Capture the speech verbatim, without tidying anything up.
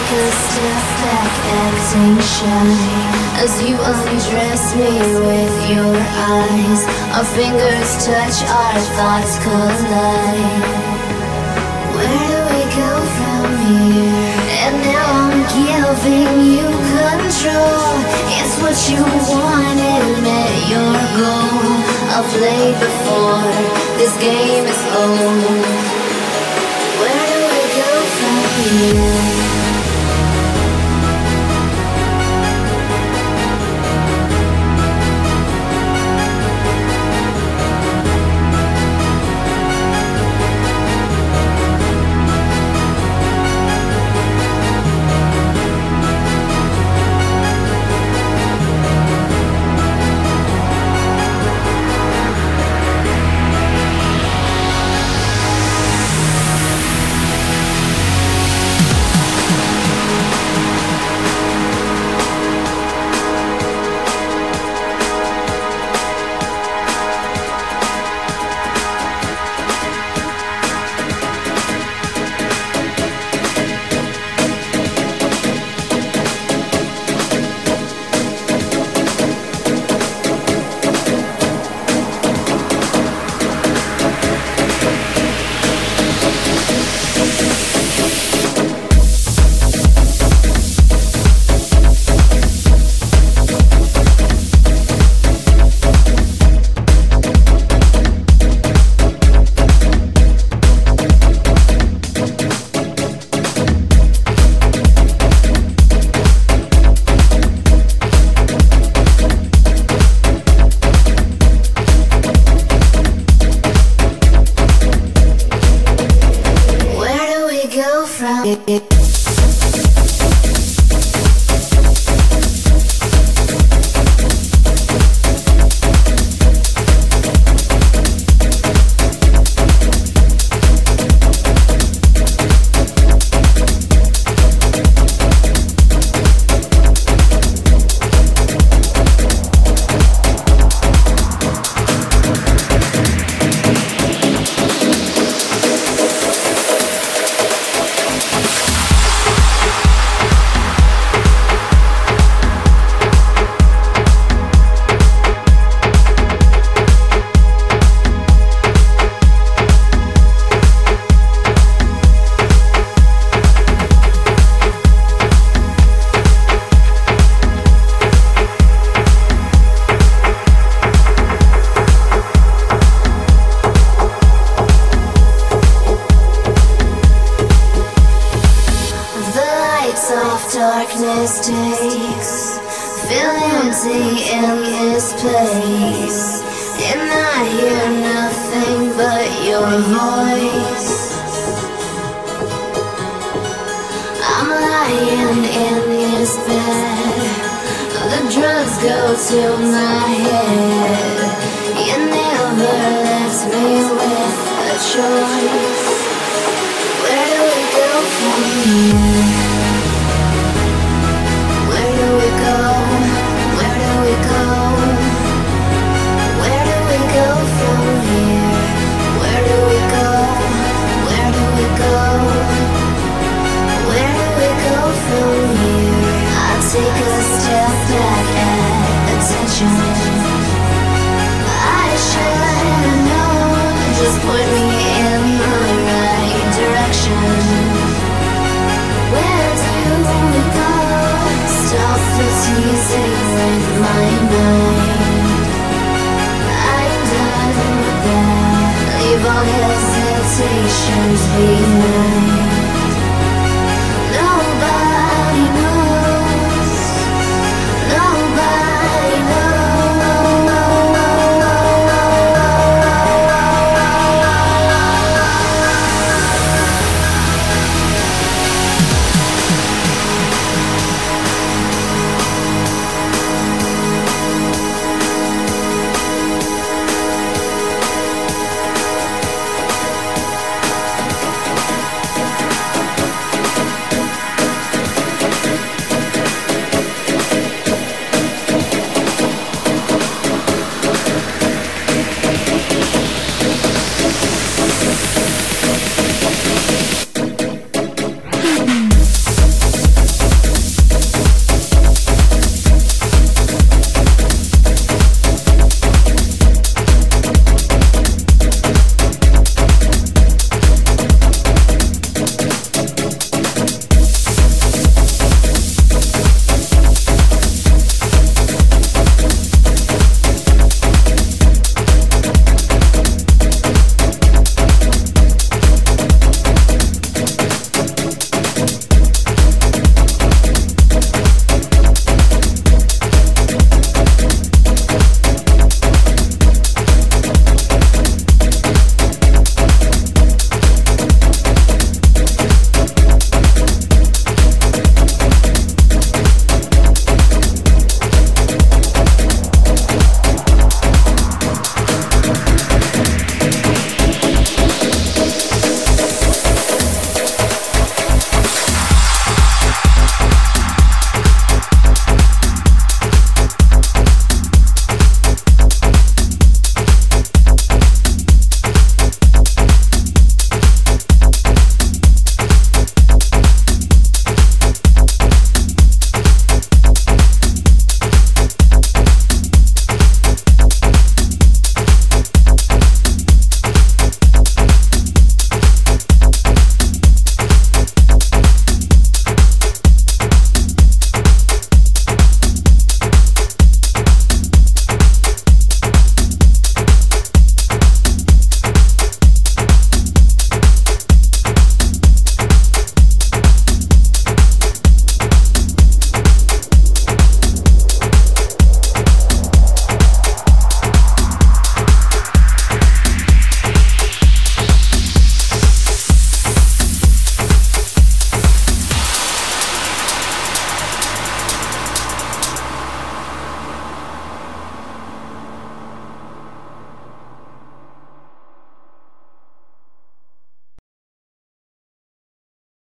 take a step back, acting shy, as you undress me with your eyes. Our fingers touch, our thoughts collide. Where do we go from here? And now I'm giving you control. It's what you wanted, met your goal. I've played before, this game is old. Where do we go from here? Darkness takes, feel empty in this place, and I hear nothing but your voice. I'm lying in this bed, the drugs go to my head. You never left me with a choice. Where do we go from here? Take a step back at attention. I should have known, just put me in the right direction. Where do we go? Stop the teasing with my mind. I'm done with that. Leave all hesitations behind.